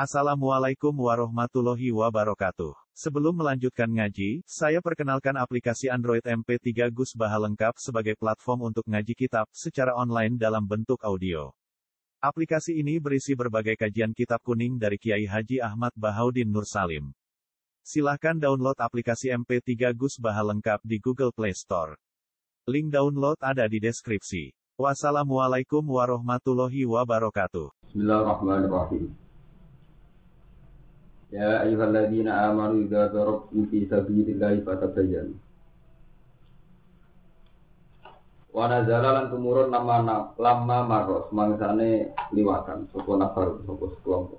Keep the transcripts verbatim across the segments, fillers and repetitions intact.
Assalamualaikum warahmatullahi wabarakatuh. Sebelum melanjutkan ngaji, saya perkenalkan aplikasi Android M P tiga Gus Baha lengkap sebagai platform untuk ngaji kitab secara online dalam bentuk audio. Aplikasi ini berisi berbagai kajian kitab kuning dari Kiai Haji Ahmad Bahaudin Nur Salim. Silahkan download aplikasi M P tiga Gus Baha lengkap di Google Play Store. Link download ada di deskripsi. Wassalamualaikum warahmatullahi wabarakatuh. Bismillahirrahmanirrahim. Ya ayyuhalladzina amanu idza darabtum fi sabilillahi fatabayyanu. Wa nazala lan tumurun nama lama maros mangsane liwatan sapa nafar sapa sekelompok.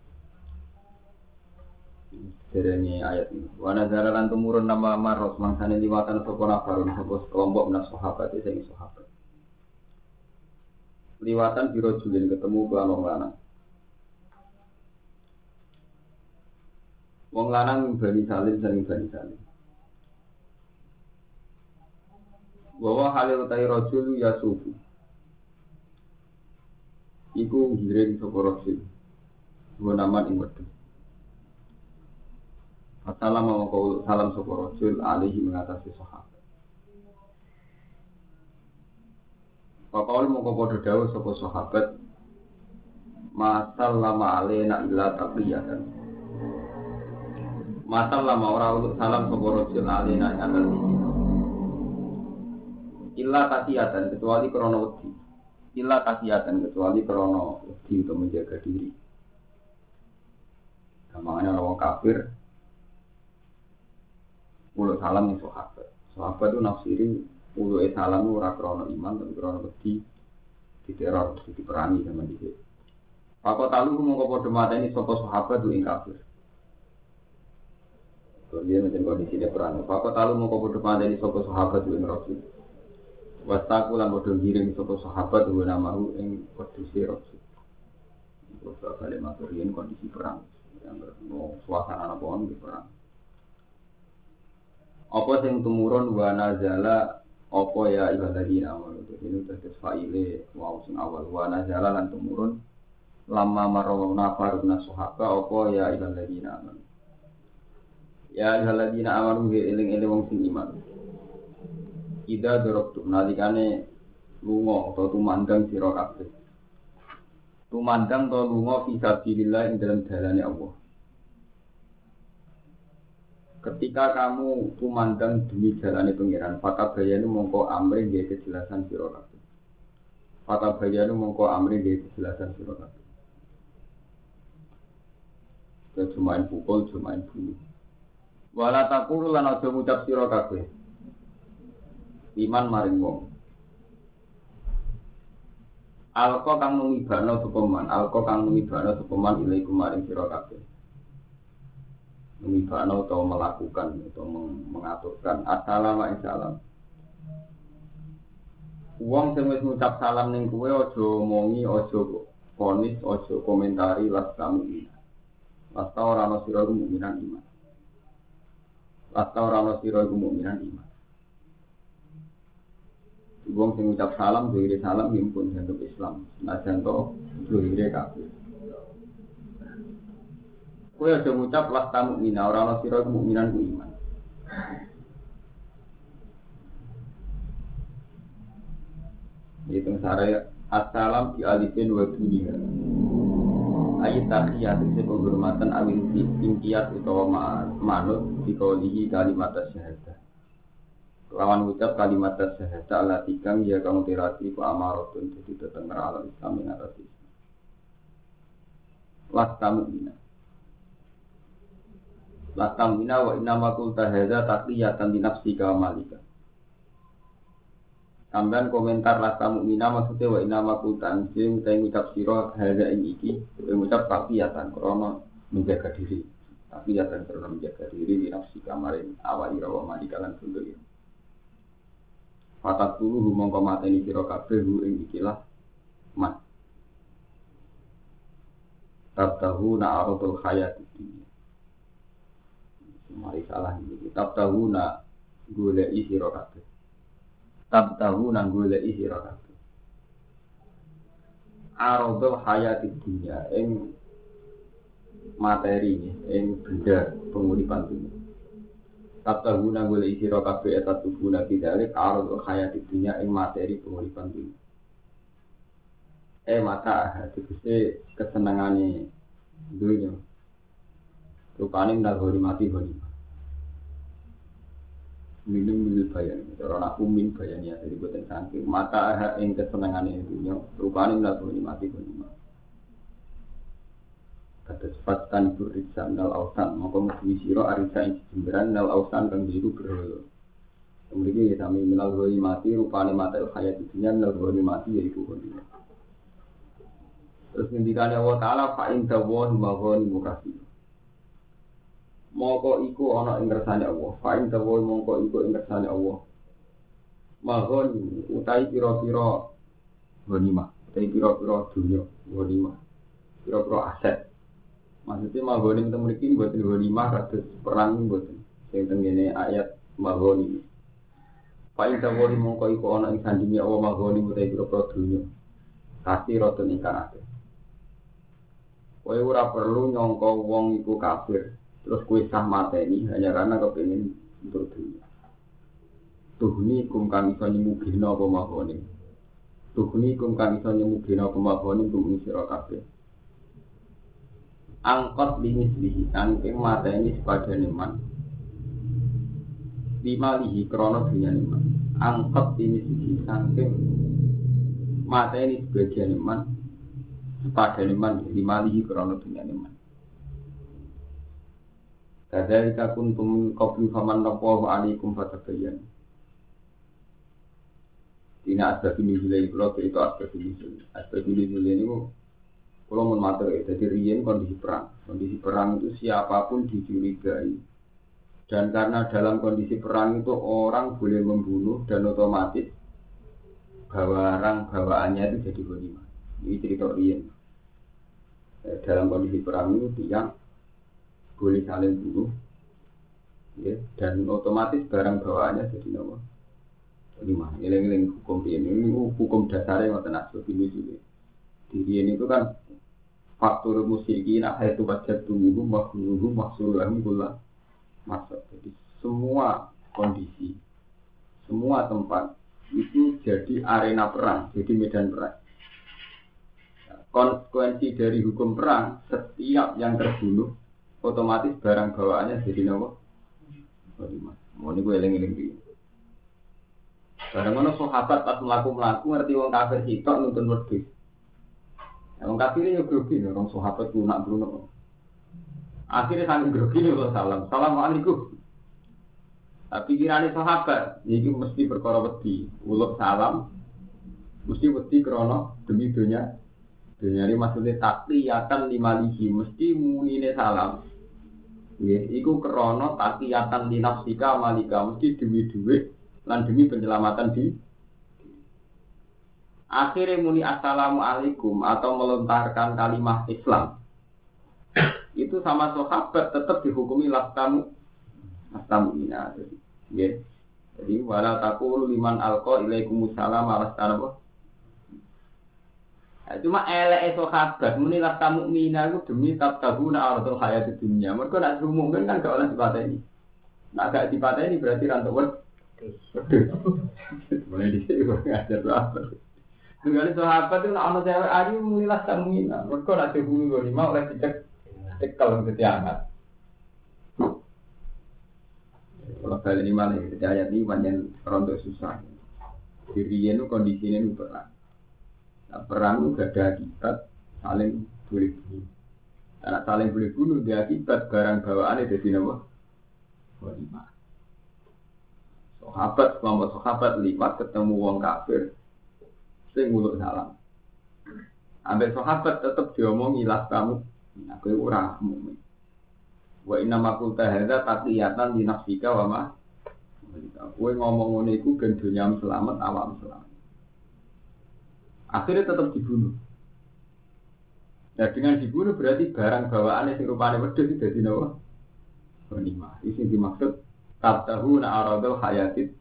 Derene ayat ini. Wa nazala lan tumurun nama maros mangsane liwatan sapa nafar sapa sekelompok menas sahabat sing sahabat. Liwatan biro julin ketemu kelan wong lanang. Wong lanang Bani Salim saling Bani Salim. Wa halil utai rajul yasufu. Iku ngiring sapa rajul. Dua nama ing wedhus. Assalamualaikum salam sapa rajul alaihi mengatasi sahabat. Papaul mongko padha dawuh sapa sahabat. Masallama alaina illa taqiyatan. Masal lama orang salam soporojil alina atas ini. Illa tasiyatan kecuali krono wedi. Illa tasiyatan kecuali krono wedi untuk menjaga diri. Namanya orang kafir. Ulu salam yang sahabat. Sahabat itu nafsiri ulu salam itu ora krono iman tapi krono wedi diteror diperangi sama dia. Pakot talu mongko padha mateni sapa sahabat itu ing kafir. Dia macam kondisi dia perang. Pakot talu mau kau depan dari sopo sahabat yang Rasul. Wastaku lan bodoh giring sopo sahabat yang namahu yang kondisi Rasul. Beberapa kali materiin kondisi perang. Yang mau suasana apa pun di perang. Apa yang tumurun wa nazala apa ya ibadina awal itu ini terus faile wow sing awal wa nazala lan tumurun lama marau nafaruna sahabat apa ya ibadina awal. Ya haladina amanu eling-eling wong sing iman. Ida doroktu nalikane lunga atau tumandang sira kabeh. Tumandang to lunga fi sabilillah ing dalam dalane Allah. Ketika kamu tumandang demi dalane pangeran, fata bayanu mongko amri nggih kejelasan sira kabeh. Fata bayanu mongko amri nggih kejelasan sira kabeh. Kecuman pukul, cuman bunuh. Wala taqulu lan aja ngucap sira kabeh iman maring wong alqa kang numibana supeman alqa kang numibana supeman ilaikum maring sira kabeh numibana utawa melakukan utawa mengaturkan assalamu alaikum wong sing wis ngucap salam ning kowe aja omongi aja ponis aja komentari las kamu lasta ora ana sira mukminan iman Lasta orang sira iku mukminan iman. Wong sing ngucap salam dhewe salam himpun bentuk Islam. Senajan to dhewe kabeh. Kowe aja ngucap lasta mukmin, ora ana sira iku mukminan ku iman. Itu sare assalam di alifin wa dunia. Ayat tahiyat itu penghormatan awil tingkiyat utawa manut dikaulihi kalimat syahadah. Lawan ucap kalimat syahadah ala tikang ya kamu tirati ku amarotun jadi tetengger ala Islam yang atas Islam. Lastamu ina. Lastamu ina wa inna makul tahada takliyatan di nafsi kamalika. Tambahan komentar lasta mukminah maksudnya wa inna makutan sing utai ngucap sira hadza ing iki ngucap taqiyatan krana menjaga diri taqiyatan krana menjaga diri di nafsi kamarin awali rawa malikalan sundul fatat dulu mongko mateni sira kabeh ing ikilah mat tabtahu na aradul hayat iki mari salah iki tabtahu na golek sira kabeh tab tahu nang golek sira kabeh. Aradul hayati dunya ing materi ing benda penguripan dunya. Kata guna boleh isi rokabe etat guna tidak arul hayat dunya ing materi penguripan dunya. Eh mata hati kese kesenangane dunya. Rupane ndak hori mati hori. Minum minum bayan, orang aku min bayan ya dari buatan saking mata ing kesenangane dunya. Rupane ndak hori mati hori. Kata sepatkan berisan nal ausan maka mesti sira arisa ing jemberan nal ausan kang biru berhala. Kemudian ya sami minal goi mati rupane mata hayat dunya nal goi mati yaiku dunya. Terus ngendikane Allah taala fa in tawahi maghani mukasi. Moko iku ana ing kersane Allah, fa in tawahi mongko iku ing kersane Allah. Maghani utai pira-pira ghanimah, utai pira-pira dunya ghanimah. Pira-pira aset. Maksudnya maghoni kita memiliki buat ghanimah kados perang buat sing tengene ayat maghoni. Fa in tawahi mongko iku ana ing sandinge Allah maghoni utai pira-pira dunya. Kasih roten ingkang akeh. Kowe ora perlu nyangka wong iku kafir, terus kowe sah mateni hanya karena kepengin untuk dunia. Tuhni kum kang iso nyemugina apa mahone. Tuhni kum kang iso nyemugina apa mahone kum sira kabeh. Angkot limislihi saking mateni sepadane man. Bimalihi krana dunyane man. Angkot limislihi saking mateni sebagian man. Sepadane man bimalihi krana dunyane man. Kadzalika kuntum qablu faman naqahu alaikum fatabayyan. Dina asbab nuzul kula itu asbab nuzul. Asbab nuzul ini kalau mau matur ya, jadi riyen kondisi perang. Kondisi perang itu siapapun dicurigai. Dan karena dalam kondisi perang itu orang boleh membunuh dan otomatis barang bawaannya itu jadi ghanimah. Ini cerita riyen. Dalam kondisi perang itu dia boleh saling bunuh, ya, dan otomatis barang bawaannya jadi nama ghanimah. Eling-eling hukum ini, ini hukum dasarnya ngoten asbab nuzul. Di riyen itu kan faktor musyrikin itu wajib tunggu makruh maksurahum kula masuk. Jadi semua kondisi, semua tempat itu jadi arena perang, jadi medan perang. Konsekuensi dari hukum perang, setiap yang terbunuh otomatis barang bawaannya jadi nama ghanimah. Mau ini gue eling-eling iki. Barang mana sahabat pas mlaku-mlaku ngerti wong kafir sitok nuntun wedhus. Wong kafir yo grogi orang sahabat lunak bruno. Akhirnya saling grogi lho salam. Assalamualaikum. Tapi kirane sahabat iki mesti perkara wedi, uluk salam mesti wedi krana demi dunya. Dunya ini maksudnya takliyatan limalihi mesti munine salam. Nggih, iku krana takliyatan linafsika malika mesti demi dhuwit lan demi penyelamatan di akhirnya muni assalamualaikum atau melontarkan kalimat Islam itu sama sahabat tetap dihukumi lastamu lastamu ina jadi ya jadi wala taqulu liman alqa ilaikumussalam alastana apa nah, cuma elek sahabat muni lastamu mina itu demi tabtaguna aradul hayatid dunya mergo nek umumkan kan gak oleh dipateni nek gak dipateni berarti rantuk mulai dhisik kok ngajar apa. Dengan sahabat itu nak cewek ayu mulilah tamina. Mereka nak dihubungi ghanimah oleh dicek cekal ke tiangat. Kalau kali ini malah kita ayat ini banyak rontok susah. Dirinya itu kondisinya itu perang. Nah, perang itu gak ada akibat saling boleh bunuh. Karena saling boleh bunuh dia akibat barang bawaan itu jadi nama ghanimah. Sahabat kelompok sahabat lipat ketemu wong kafir. Sing nguluk salam. Ambek sahabat tetap diomongi las kamu. Aku ora mukmin. Wa inna ma qulta hadza taqiyatan li nafsika wa ma. Kowe ngomong ngene iku ben dunyam selamat awam selamat. Akhirnya tetap dibunuh. Nah dengan dibunuh berarti barang bawaannya sing rupane wedhus iki dadi napa? Ghanimah. Iki dimaksud tabtahuna aradul hayatid.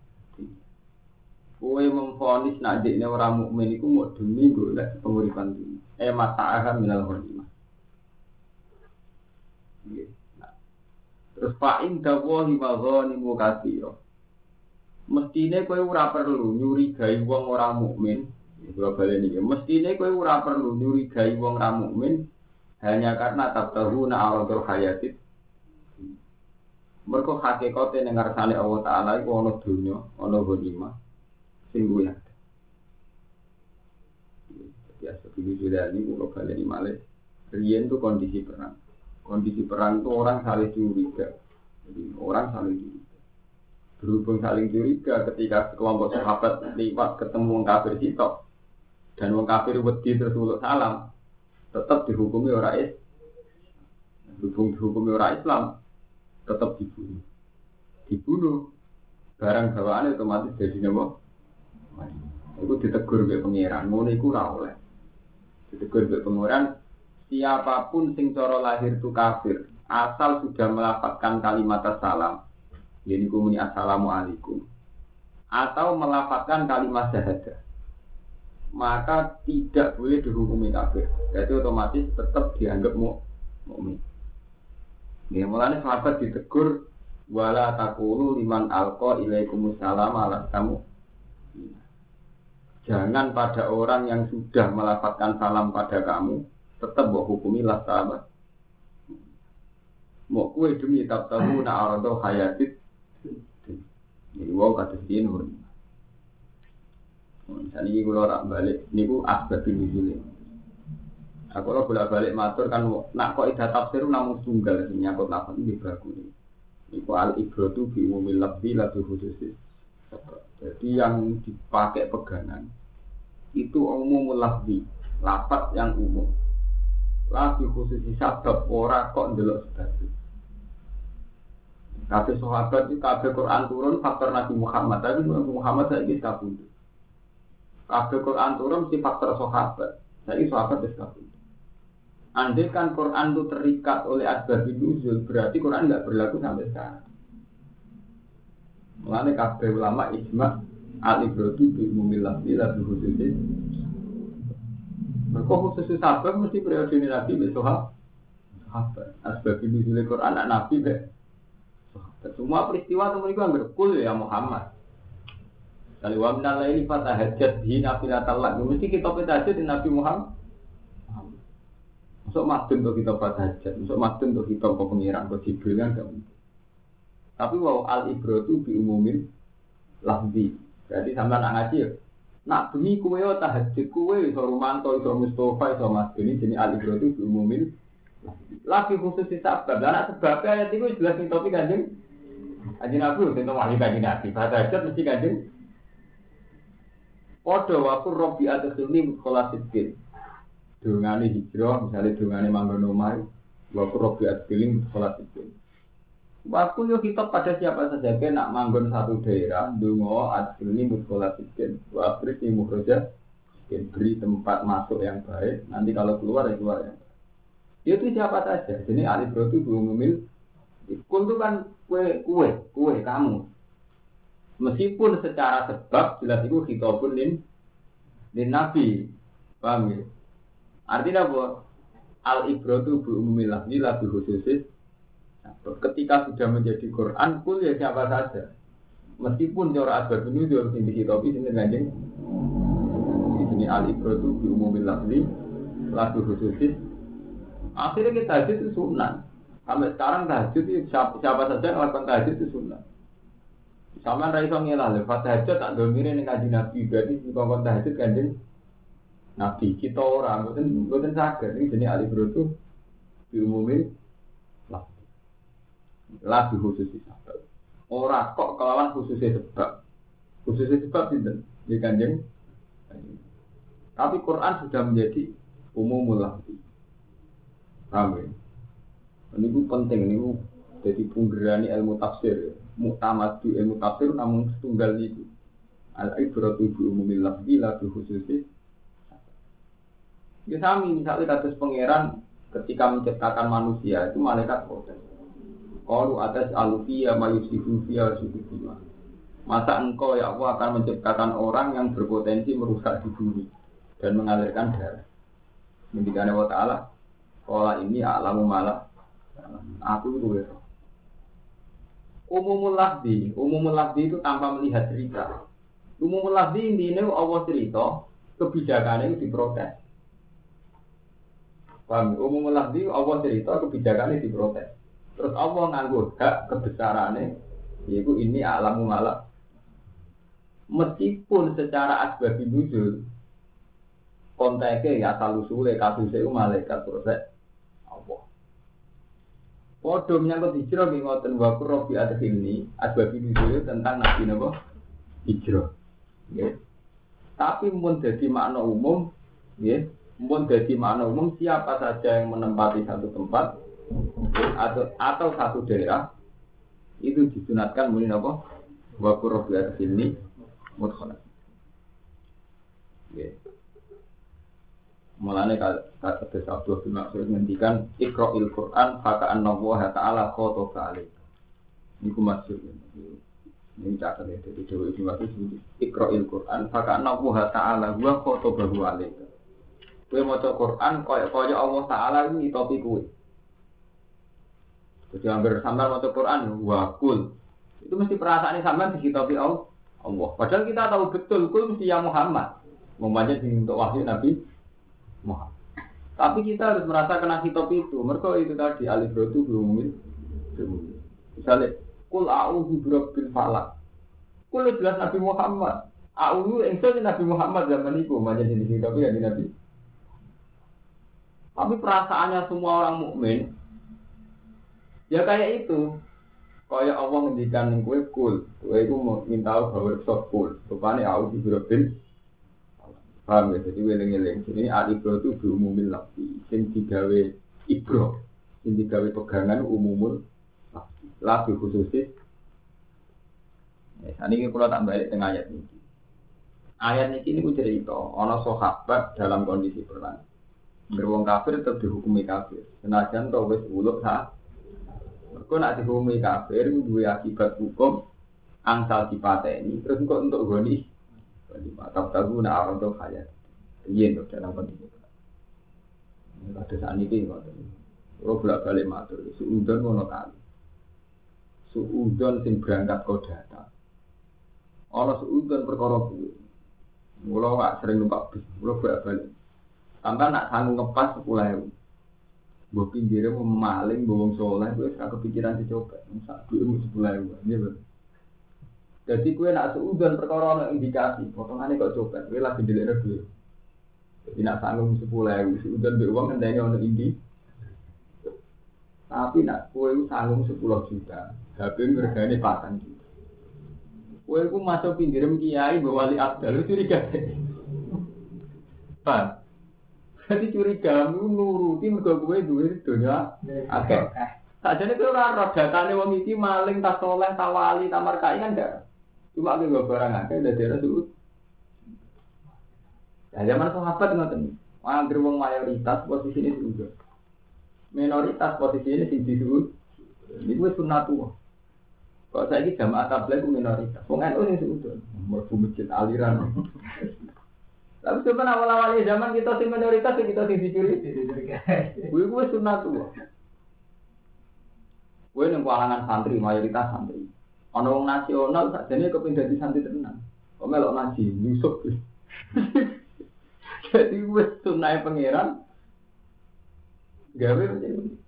Kowe memfonis nak dekne ora mukmin iku mau demi golek penguripan dunya. Eh mata'aha minal ghanimah. Terus fa'in dawahi maghanimu katsira. Mestine kowe ora perlu nyurigai wong ora mukmin. Kula baleni iki. Mestine kowe ora perlu nyurigai wong ora mukmin hanya karena tabtahuna aradul hayatid. Mergo hakikate ning ngarsane Allah Taala iku ana donya, ana ghanimah sing luwih. Ya seperti sudah ini kula baleni malih. Riyen itu kondisi perang. Kondisi perang itu orang saling curiga. Jadi orang saling curiga. Berhubung saling curiga ketika kelompok sahabat lewat ketemu wong kafir sitok dan wong kafir wedi terus uluk salam, tetap dihukumi orang Islam. Berhubung dihukumi orang Islam, tetap dibunuh. Dibunuh, barang bawaan otomatis jadi nama. Itu ditegur oleh pengiran, ngono iku ora oleh. Ditegur oleh pengiran, siapapun sing cara lahir itu kafir, asal sudah melafazkan kalimat salam. Jadi kumuni assalamualaikum atau melafazkan kalimat syahadah, maka tidak boleh dihukumi kafir. Jadi otomatis tetap dianggap mukmin. Ya, mulanya sahabat ditegur wala taqulu liman alqa ilaikumussalam ala kamu. Jangan pada orang yang sudah melafazkan salam pada kamu, tetap mbok hukumi lah sahabat. Mau kue demi tabtahu na arado hayatid. Ini wow kata sini pun. Misalnya ini kalau orang balik, ini ku asbab nuzul. Aku kalau bolak balik matur kan, nak kok idah tafsir namun tunggal nyangkut lafaz ini bagus. Ini ku al ibratu bi umumil lafzi la bi khususis. Jadi yang dipakai pegangan itu umumul lafzi, lafaz yang umum. La bi khususis sabab ora kok ndelok sebab. Kabeh sahabat itu kabeh Quran turun faktor Nabi Muhammad, tapi Nabi Muhammad saiki kabeh. Kabeh Quran turun si faktor sahabat. Saiki sahabat wis kabeh. Andai kan Quran itu terikat oleh asbab nuzul, berarti Quran enggak berlaku sampai sekarang. Mulane kabeh ulama ijma' al-ibratu bi umumil lafzi la bi khususis. Mergo khusus sahabat mesti periode Nabi wis sahabat. Asbab nuzul Quran anak Nabi be. Semua peristiwa itu mereka berkul ya Muhammad. Kalau wa minal laili fatahajjat bihi nafilatan lak. Mesti kita tahajud di Nabi Muhammad. Masuk madun untuk kita fatahajjat, masuk madun untuk kita ke pengiran, ke Jibril kan enggak mungkin. Tapi wow al ibratu bi umumin lafzi. Jadi sampean nak ngaji ya. Nak bengi kowe tahajud kowe iso Rumanto, iso Mustofa, iso Mas ini jenis al ibratu bi umumin lagi khusus di sabab. Lah nak sebabnya ayat itu jelas ning topik Kanjeng Kanjeng Nabi utawa wali Kanjeng Nabi. Fatahajat mesti Kanjeng padha waqur rabbi adkhilni mudkhalasidin. Dungane hijrah, misalnya dungane manggon omah, waqur rabbi adkhilni mudkhalasidin. Waktu yo kita pada siapa saja ke nak manggon satu daerah, donga adkhilni mudkhalasidin. Wa akhirnya mukhraja beri tempat masuk yang baik, nanti kalau keluar ya keluar yang itu siapa saja. Jadi alif itu belum memil. Kul itu kan kue kue kue kamu. Meskipun secara sebab jelas itu khitabun lin lin nabi. Paham ya? Artinya apa? Al ibratu bi umumil lafzi la bi khususis. Ketika sudah menjadi Quran, kul ya siapa saja. Meskipun cara asbab nuzul sing dihitopi sing Kanjeng. Ini al ibratu bi umumil lafzi la bi khususis. Akhirnya kita tahajud itu sunnah. Sampai sekarang tahajud itu siapa, siapa saja yang melakukan tahajud itu sunnah. Sama Raisa ngelah, lepas tahajud tak domirin dengan kaji Nabi. Berarti di kongkong tahajud Kanjeng Nabi. Kita orang, bukan bukan sakit. Ini jenis alif itu diumumin lah. Lah di khusus sebab. Orang kok kelawan khususnya sebab. Khususnya sebab tidak di Kanjeng. Tapi Quran sudah menjadi umumul lafzi. Paham ya? Ini itu penting, ini jadi penggerani ilmu tafsir. Muktamadu ilmu tafsir namun setunggal itu. Al-ibratu bi umumil lafzi la bi khususis. Ya sami misalnya kados pangeran ketika menciptakan manusia itu malaikat protes. Qalu atas alufiyya mayusifu fiya sukufiya. Masa engkau ya Allah akan menciptakan orang yang berpotensi merusak di bumi dan mengalirkan darah. Ngendikane wa ta'ala, qala ini a'lamu malah aku itu ya. Umumul lafzi, umumul lafzi itu tanpa melihat cerita. Umumul lafzi intinya Allah cerita, kebijakannya itu diprotes. Paham? Umumul lafzi Allah cerita, kebijakannya diprotes. Terus Allah nganggo hak kebesarannya, yaitu ini alamu malak. Meskipun secara asbabi nuzul, konteknya ya asal usule kasusnya itu malaikat proses Allah. Podo menyangkut hijrah nggih ngoten wa qurbi adkhilni asbab nuzul tentang nabi napa hijrah. Nggih. Tapi mun dadi makna umum, nggih, mun dadi makna umum siapa saja yang menempati satu tempat atau atau satu daerah itu disunatkan muni napa wa qurbi adkhilni mudkhala. Nggih. Mulane kata Abdul bin Mas'ud ngendikan Iqra'il Qur'an fa ka'anna Allah ta'ala khotaba alaik. Niku maksud ini catat ya dari Dewi Ibnu Mas'ud Iqra'il Qur'an fa ka'anna Allah ta'ala wa khotaba alaik. Kowe maca Qur'an kaya-kaya Allah taala iki ngitopi kowe. Jadi anggar sampean maca Qur'an wa kul. Itu mesti perasaane sampean dikitopi Allah. Padahal kita tahu betul kul mesti ya Muhammad. Umpamanya untuk wahyu Nabi Muhammad. Tapi kita harus merasa kena hitop itu. Mereka itu tadi alif itu belum misalnya kul a'udzu birabbil falaq. Kul jelas Nabi Muhammad. A'udzu engso Nabi Muhammad zaman itu umpamanya di hitop ya di Nabi. Tapi perasaannya semua orang mukmin ya kayak itu. Kayak Allah ngendikan ning kowe kul. Kowe iku minta bahwa sok kul. Rupane a'udzu birabbil paham ya, jadi weleng-weleng. Jadi al-ibro itu berumumil lafzi. Yang digawe ibro, yang digawe pegangan umumul lafzi. Lafzi khususis. Ya, ini kalau tak balik dengan ayat ini. Ayat ini ini cerita, ada sahabat dalam kondisi perang. Beruang kafir tetap dihukumi kafir. Senajan kau wis uluk sah. Mereka nak dihukumi kafir, dua akibat hukum angsal dipateni. Terus kok untuk goni. Mata tahu nak orang tu kaya, iya tu dalam kondisi itu. Ada saat ini macam ni. Kalau bolak balik matur, suudon mana kali, suudon sing berangkat kau datang. Orang suudon perkara tu, mula tak sering numpak bis, mula bolak balik. Tambah nak sanggup ngepas sepuluh ribu. Bawa pinggirnya memaling, bawang soleh, gue sekarang kepikiran dicoba, masa duitmu sepuluh ribu, ni betul. Jadi kue nak seudon perkara ana indikasi, potongane kok copet, kue lagi ndelikne duit. Jadi nak sanggup sepuluh ribu seudon mbek wong ngenteni ana indi. Tapi nak kue sanggup sepuluh juta, H P regane patang juta. Kue ku masuk pinggirem kiai mbok wali abdal curiga. Pak. Jadi curiga nuruti mergo kowe duwe donya akeh. Sajane kowe ora ro datane wong iki maling tas soleh tawali tamar kai kan ndak. Cuma aku gak barang akeh dari Rasul. Ya zaman sahabat ngoten. Angger wong mayoritas posisi ini juga. Minoritas posisi ini sing disuwun. Iku wis sunatullah. Kok saiki jamaah tabligh ku minoritas. Wong N U sing suudon, mlebu masjid aliran. Tapi sebenarnya awal-awal zaman kita sing minoritas kita sing dicuri. Kuwi wis sunatullah. Kuwi nang kalangan santri mayoritas santri. Ana wong nasional sakjane kepengin dadi santri tenan. Kok melok ngaji nyusuk. Jadi wis sunai pangeran gawe macam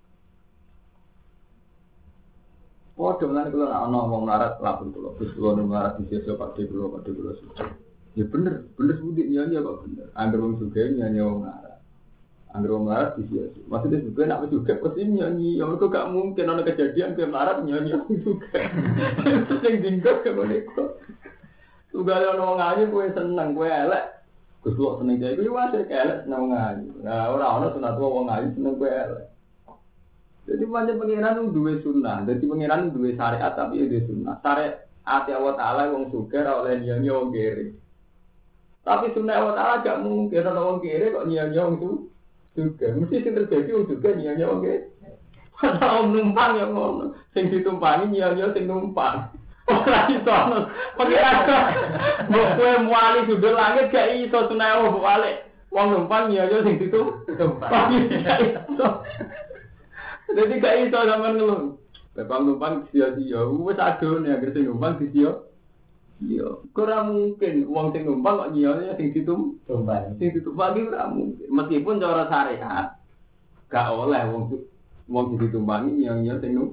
padha lan kula ana wong melarat lapun kula Gus kula melarat di sesuk Pak De kula Pak De kula. Ya bener, bener sudi nyanyi kok bener. Angger wong sugih nyanyi wong melarat. Angger wong melarat di sesuk. Maksudnya juga nak juga pasti nyanyi. Ya mergo gak mungkin ana kejadian ke melarat nyanyi juga. Sing dingkok kok niku. Tugale ana wong ayu kowe seneng kowe elek. Gus kok seneng jare kuwi wae elek seneng ayu. Nah ora ana sunat wong ayu seneng kowe elek. Jadi pancen pengiran duwe sunnah. Dadi pengiran duwe syariat tapi duwe sunnah. Syariat ati Allah taala wong sugih ora oleh nyanyi wong kere. Tapi sunnah Allah taala gak mungkin ana wong kere kok nyanyi wong sugih. Mesti sing terjadi wong sugih nyanyi wong kere. Ana numpang yang ngono. Sing ditumpangi nyanyi sing numpang. Ora iso ana pengiran. Mbok kowe muali sudut langit gak iso sunnah Allah balik. Wong numpang nyanyi sing ditumpang. Jadi gak iso sampean ngeluh. Bapak numpang sia-sia, wis adone anggere sing numpang sia. Iya, ora mungkin wong sing numpang kok nyiyone sing ditum tumpang. Sing ditumpang iki ora mungkin. Meskipun cara syariat gak oleh wong wong sing ditumpangi nyiyone sing numpang.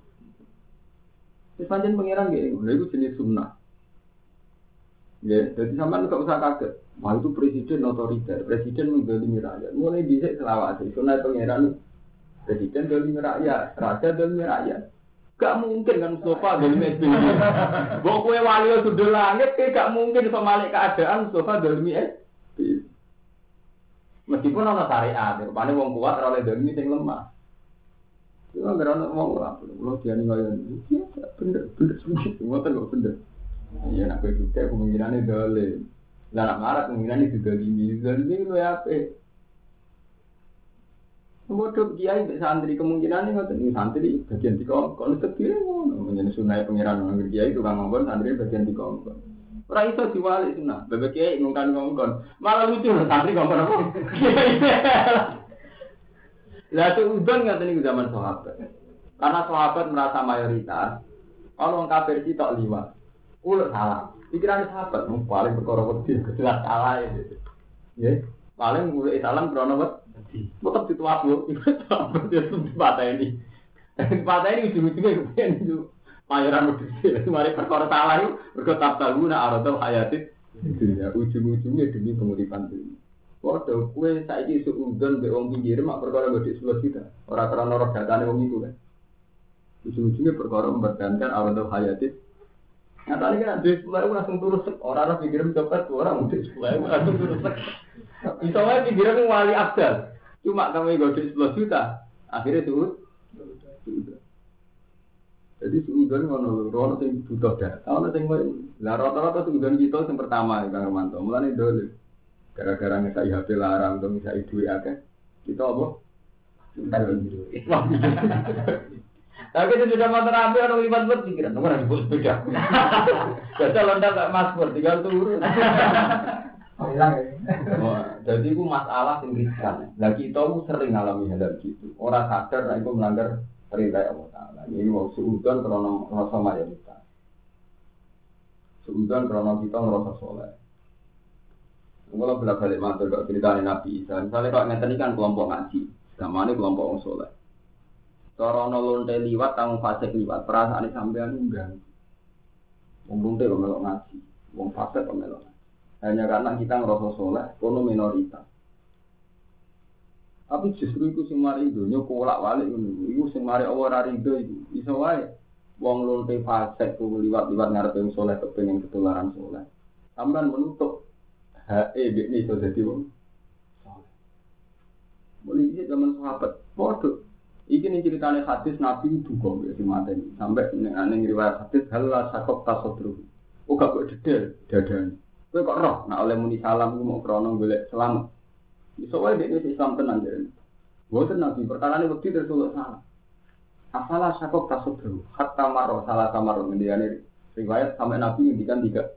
Wis pancen pangeran nggih, lha iku jenis sunnah. Ya, jadi sampean gak usah kaget. Wah itu presiden otoriter, presiden mendolimi rakyat. Mulai dhisik selawase, sunah pangeran presiden dolimi rakyat, raja dolimi rakyat. Gak mungkin kan Mustafa dolimi S B Y. Mbok kowe wali sudul langit ke gak mungkin iso malik keadaan Mustafa dolimi S B Y. Meskipun ana syariat, rupane wong kuat ora oleh dolimi sing lemah. Iku anggere ana wong ora perlu diani kaya iki bener bener ngoten kok bener. Iya nak kowe juga kemungkinane dolim. Lah nak marah kemungkinane didolimi. Dolimi lho apik. Bodoh kiai mbek santri kemungkinan ngoten iki santri bagian dikongkon sedire ngono menyen sunah pangeran nang kiai tukang ngongkon santri bagian dikongkon ora iso diwalik sunah bebek kiai ngongkon ngongkon malah lucu santri ngongkon apa lah itu udon ngaten niku zaman sahabat karena sahabat merasa mayoritas kalau wong kafir sitok liwat ulur salah pikiran sahabat mung paling perkara wedi jelas salah ya paling mulai salam krono wet tetap dituapu, itu dia sepatah ini. Sepatah ini ujung-ujungnya kemudian itu mayoran modus. Mari perkara salah itu berkata tahu nak aradul hayatit. Ujung-ujungnya demi penguripan dunia. Waduh, kue saiki seudon be wong pinggir mak perkara gede sebelas juta. Orang karena norok datane wong itu kan. Ujung-ujungnya perkara mempertahankan aradul hayatit. Nah tadi kan duit sepuluh ribu langsung turun sek. Orang harus pikirin copet, orang duit sepuluh ribu langsung turun sek. Misalnya pikirin wali abdal. Cuma kamu gede sepuluh juta, akhirnya turun. Jadi suudon ngono, ngono sing butuh data, ono sing lah rata-rata suudon kita sing pertama Kang Romanto. Mulane dole. Gara-gara ngesai H P larang atau ngesai duit akeh. Kita apa? Entar duit. Tapi itu sudah motor api orang lipat buat pikiran, nomor yang disebut sepeda. Jadi lontar gak masker, tinggal turun. Oh, hilang ya. Jadi itu masalah yang riskan. Nah kita sering alami hal gitu. Orang sadar, nah itu melanggar perintah Allah Taala. Ini mau seudon karena rasa mayoritas. Seudon karena kita ngerasa soleh. Kalau bolak-balik matur kok ceritanya Nabi Isa. Misalnya kalau ngeten kan kelompok ngaji, gamane kelompok orang soleh. Cara ana lonte liwat tanggung fasik liwat, perasaane sampean enggak. Wong lonte kok melok ngaji, wong fasik kok melok. Hanya karena kita ngerasa soleh, kono minoritas. Tapi justru itu sing mari donya kolak-walik ngono. Iku sing mari Allah ora rido iku. Iso wae wong lonte fasik ku liwat-liwat ngarepe wong soleh kepengin ketularan soleh. Sampeyan menutup hak e iki iso dadi wong soleh. Mulai zaman sahabat, padha iki ning ceritane hadis Nabi duka ya dimateni sampai ning riwayat hadis halal sakop tasodru. Oh gak kok dedel dadane. Kowe kok roh nek oleh muni salam ku mau krono golek selamat. Iso wae dhewe Islam tenan jare. Boten Nabi perkarane wedi terus salah. Asalah sakop tasodru hatta maro salah kamar ngendikane riwayat sampai Nabi ngendikan tiga.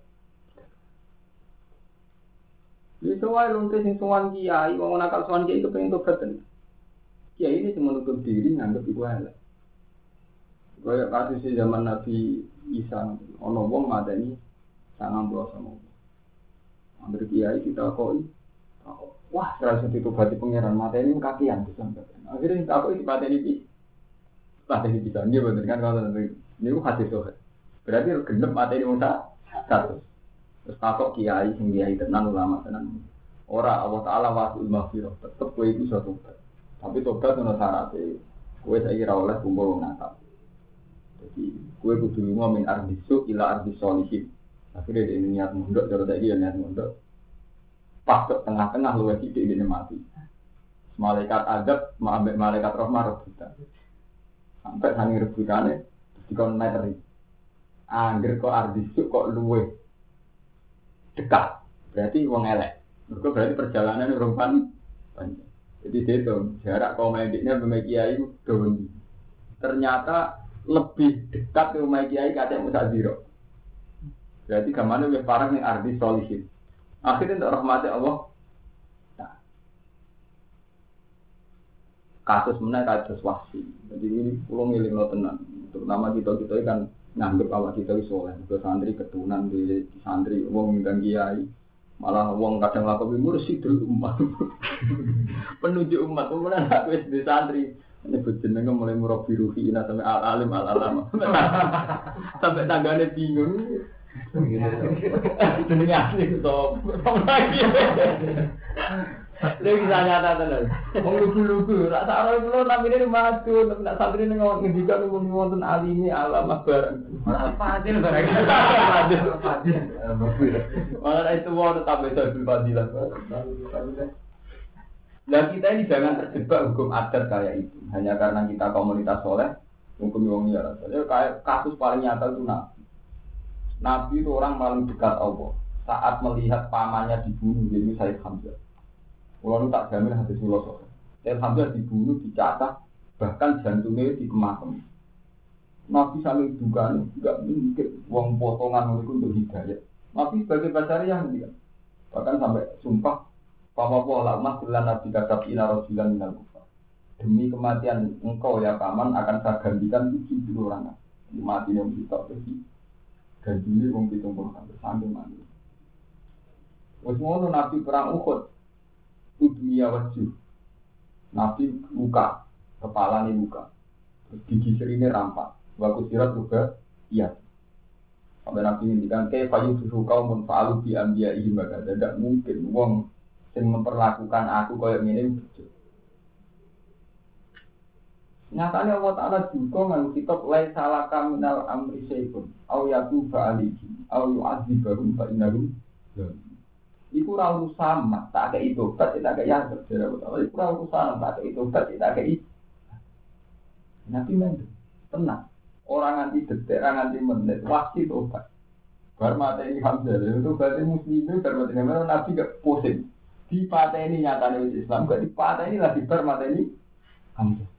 Iso wae lonte sing sowan kiai wong nakal sowan kiai kepengin tobat tenan. Ya ini cuma menutup diri nganggep iku elek. Kaya kasus zaman Nabi Isa, ono wong madani sangang puluh sama. Ambil kiai kita koi, wah terasa ditobati pangeran mateni kakian sampai. Akhirnya kita koi dipateni pi, pateni bisa dia bener kan kalau nanti ini ku hadis sohe. Berarti genep mateni musa satu. Terus takok kiai sing kiai tenan ulama tenan. Ora Allah Taala wasul maghfirah, tetep kowe iku iso tobat. Tapi tobat ono syaratnya, kue saya kira oleh kumpul nakal. Jadi kue kudu lunga min ardisu ila ardis solihin. Akhirnya dia niat munduk, cara saya dia niat munduk. Pas ke tengah-tengah luwes sidik ini mati. Malaikat adab, ambek malaikat rahmah rebutan. Sampai sangi rebutannya, dikon meteri. Angger kok ardisu kok luwes dekat. Berarti wong elek. Mereka berarti perjalanan rumpan panjang. Jadi itu jarak kaum mediknya sama kiai doang. Ternyata lebih dekat ke rumah kiai kata Musa Ziro. Berarti kemana lebih parah yang arti solihin. Akhirnya untuk rahmatnya Allah. Nah, kasus mana kasus wahsi. Jadi ini pulau milik lo tenang. Terutama kita-kita kan nganggep awak kita iki saleh, ke santri ketunan di santri wong ngundang kiai. Malah wong kadang lakukan mursyidul umat. Penunjuk umat, kemudian aku wis di santri. Ini jenenge mulai murabi ruhi ina sampai al-alim al-alama. Sampai tanggane bingung. Jenenge asli sop. Lagi. Lagi nyata tenan. Wong lugu-lugu, ra sak ora kula namine maju, nek santri ning ngendikan wonten alimi alama bareng. Ora fadil bareng. Fadil. Fadil. Ora itu wae tambah sabul fadilah. Nah kita ini jangan terjebak hukum adat kayak itu. Hanya karena kita komunitas soleh, hukum wong liya. Kayak kasus paling nyata itu Nabi. Nabi itu orang paling dekat Allah. Saat melihat pamannya dibunuh, jadi Sayyid Hamzah. Kalau tak jamin hadis filosofi. Sayyid Hamzah dibunuh, dicatat, bahkan jantungnya dikemasem. Nabi sambil duga nih, tidak mungkin wong potongan itu untuk hidayah. Nabi sebagai pasari yang dia, bahkan sampai sumpah, Papa pola mas bilang Nabi kata ina rojilan minal kufar. Demi kematian engkau ya paman akan saya gantikan tujuh puluh orang. Mati yang kita pergi gantinya wong pitung puluh sampai sampai mati. Wes ngono Nabi perang Uhud, dunia wajib. Nabi luka, kepala ini luka, gigi serine rampak. Waktu sirat juga, iya. Sampai Nabi ngintikan, kayak payu susu kau menfaalu bi ambiya ihim baga. Tidak mungkin, wong yang memperlakukan aku kayak gini. Nyatanya Allah Ta'ala juga ngang kitab lai salaka minal amri syai'un au yatuba alihi au yu'adzibahum fa'inahum. Iku ra urusan tak kayak itu, tak kayak yazab. Iku ra urusan tak kayak itu, tak kayak itu. Nabi mendem, tenang. Orang anti detik, orang anti menit, wajib tobat. Bar mata ini Hamzah, itu berarti muslimin, berarti namanya Nabi gak pusing. Di patah ini nyatanya Islam, gak di patah ini lagi bar mata ini Hamzah.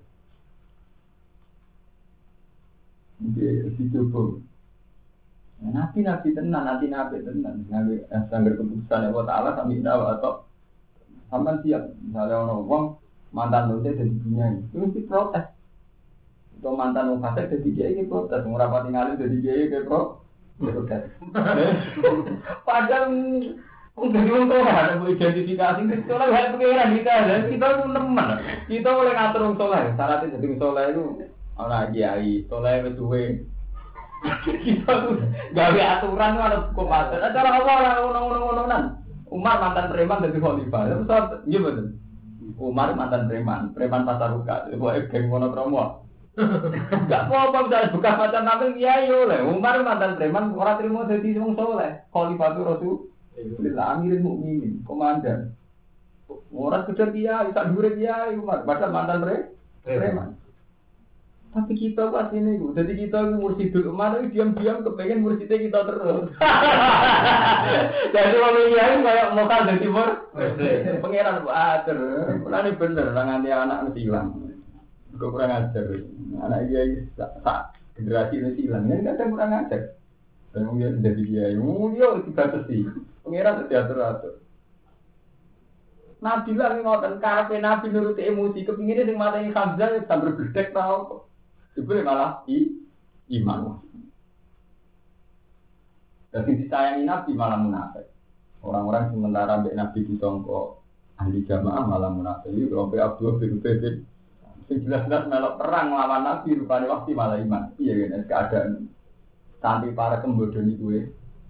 Jadi dicoba. Nabi Nabi tenan, Nabi Nabi tenan, Nabi sanggar keputusan Allah Taala kami tahu atau sampai siap. Misalnya orang orang mantan dosa dari dunia ini, itu mesti protes. Atau mantan orang fasik jadi kiai ke protes, orang rapati ngalim jadi kiai ke protes. Padahal untuk orang tua ada identifikasi itu lah hal pengiran kita, dan kita itu teman. Kita boleh ngatur orang soleh, syaratnya jadi soleh itu orang kiai, soleh bersuwe. Kita tuh gawe aturan itu ada hukum adat. Cara apa orang orang-orang Umar mantan preman jadi khalifah. Itu saat iya betul. Umar mantan preman, preman pasar buka. Buat geng monokromo. Gak apa-apa bisa buka macam nabi kiai oleh. Umar mantan preman orang terima jadi wong soleh. Khalifah itu rasul. Bila amirin mukminin, komandan. Orang kejar kiai, tak dure kiai Umar. Padahal mantan preman. Tapi kita pas ini, jadi kita mursidul umat itu diam-diam kepengen mursidnya kita terus. Jadi kalau kiai kayak mokal dari timur, pengeran buat terus. Ini bener, nanti anak mesti hilang. Gue kurang ajar, anak kiai tak generasi ini hilang, ini kadang kurang ajar. Dan mungkin jadi kiai, mungkin tiga sesi, pengeran diatur-atur. Nabi lah ngoten karepe Nabi nuruti emosi, kepingine sing mateni Hamzah sambil bledek tau. Sebelum malah i, iman. Jadi disayangi Nabi malah munafik. Orang-orang sementara ambek Nabi disangka ahli jamaah malah munafik. Iki sampai Abdul bin Ubay. Sing jelas-jelas melok perang lawan Nabi rupane waktu malah iman. Iya kan keadaan sampai para kembodoni kuwe.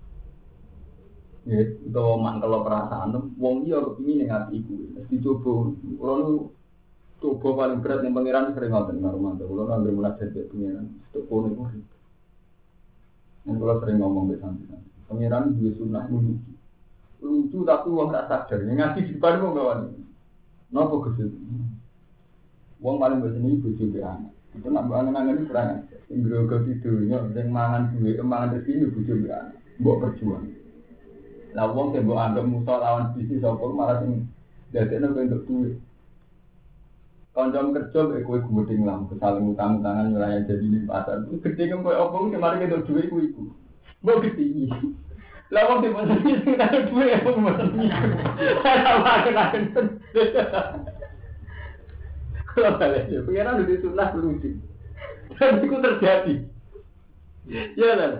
Ya, itu mangkel perasaan wong iya kepingin ning ati iku. Mesti coba ora coba paling berat yang pangeran sering ngoten karo mantu. Kulo nang mulai dadi pangeran, tok kono iku. Nek kulo sering ngomong mbek sampeyan. Pangeran duwe sunah lucu. Lucu tapi wong ora sadar. Ngaji di depan wong kawan. Napa Gusti? Wong paling bosen iki bojo mbek anak. Itu nak angen-angen kurang aja. Sing grogo tidunya, sing mangan duwe, mangan rezeki bojo mbek anak. Mbok perjuang. Lah wong sing mbok anggap musuh lawan bisnis apa malah sing dadekno bentuk duwe. Kanjam kerja mek kowe gudeng lah, saling utang-utangan wilayah jadi ning pasar. Gede kok koyo opo sing mari ketok dhuwit kuwi iku. Mbok gede. Lah wong sing mesti sing ketok dhuwit apa mesti. Ora akan-akan. Kalau balik, pengiran udah sunah lucu. Dan itu terjadi. Ya kan?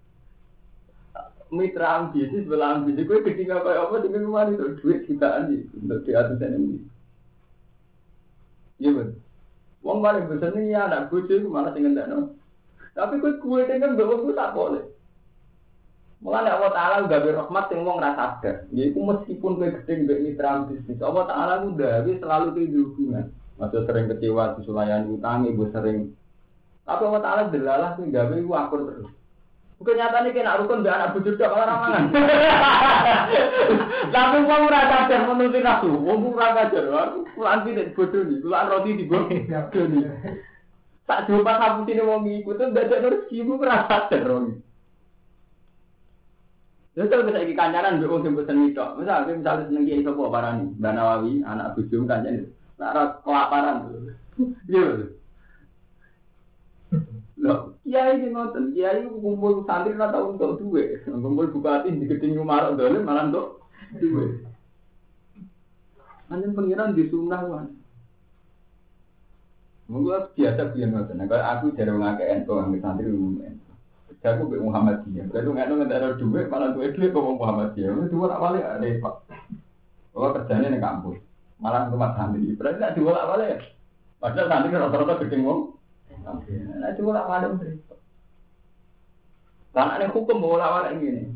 Mitra ambisi, sebelah ambisi, gue ketika kayak apa dengan kemarin itu duit jutaan sih untuk di atas ini. Iya betul. Wong paling besar nih ya anak gue sih malah tinggal dano. Tapi gue gue tinggal bawa gue tak boleh. Mulai Allah Taala udah berrahmat yang wong rasa sadar. Jadi meskipun gue gede gede mitra bisnis, Allah Taala udah dia selalu tidur hubungan. Masih sering kecewa di sulayan utang, ibu sering. Tapi Allah Taala delalah tuh gawe gue akur terus. Kenyataannya kena rukun be anak bujur dak malah ramangan. Tapi wong ora sadar menuruti nafsu, wong ora sadar. Kulan pitik bodoh iki, kulan roti digo. Tak jumpa kaputine wong iku tuh dadak rezeki ku ora sadar wong. Ya kalau bisa iki kancanan mbek wong sing bosen mitok. Misal misale seneng kiai sapa parani, Mbak Nawawi, anak bojo kancane. Nek ora kelaparan. Iya. Loh, kiai iki ngoten, kiai kumpul santri ora tau untuk duwe. Kumpul bupati di gedeng Umarok dole malah untuk duwe. Anjen pengiran di sunah wae. Monggo biasa biyen ngoten. Nek aku jare wong akeh ento nang santri umum. Aku mbek Muhammadiyah. Kalau ngono ngentek ora duwe malah duwe duwe kok Muhammadiyah. Itu ora wale repot. Oh kerjane ning kampus. Malah tempat santri. Berarti nek diwolak wale. Padahal santri rata-rata gedeng wong. Nah, itu lah malam cerita. Karena ada hukum bola-bola ini.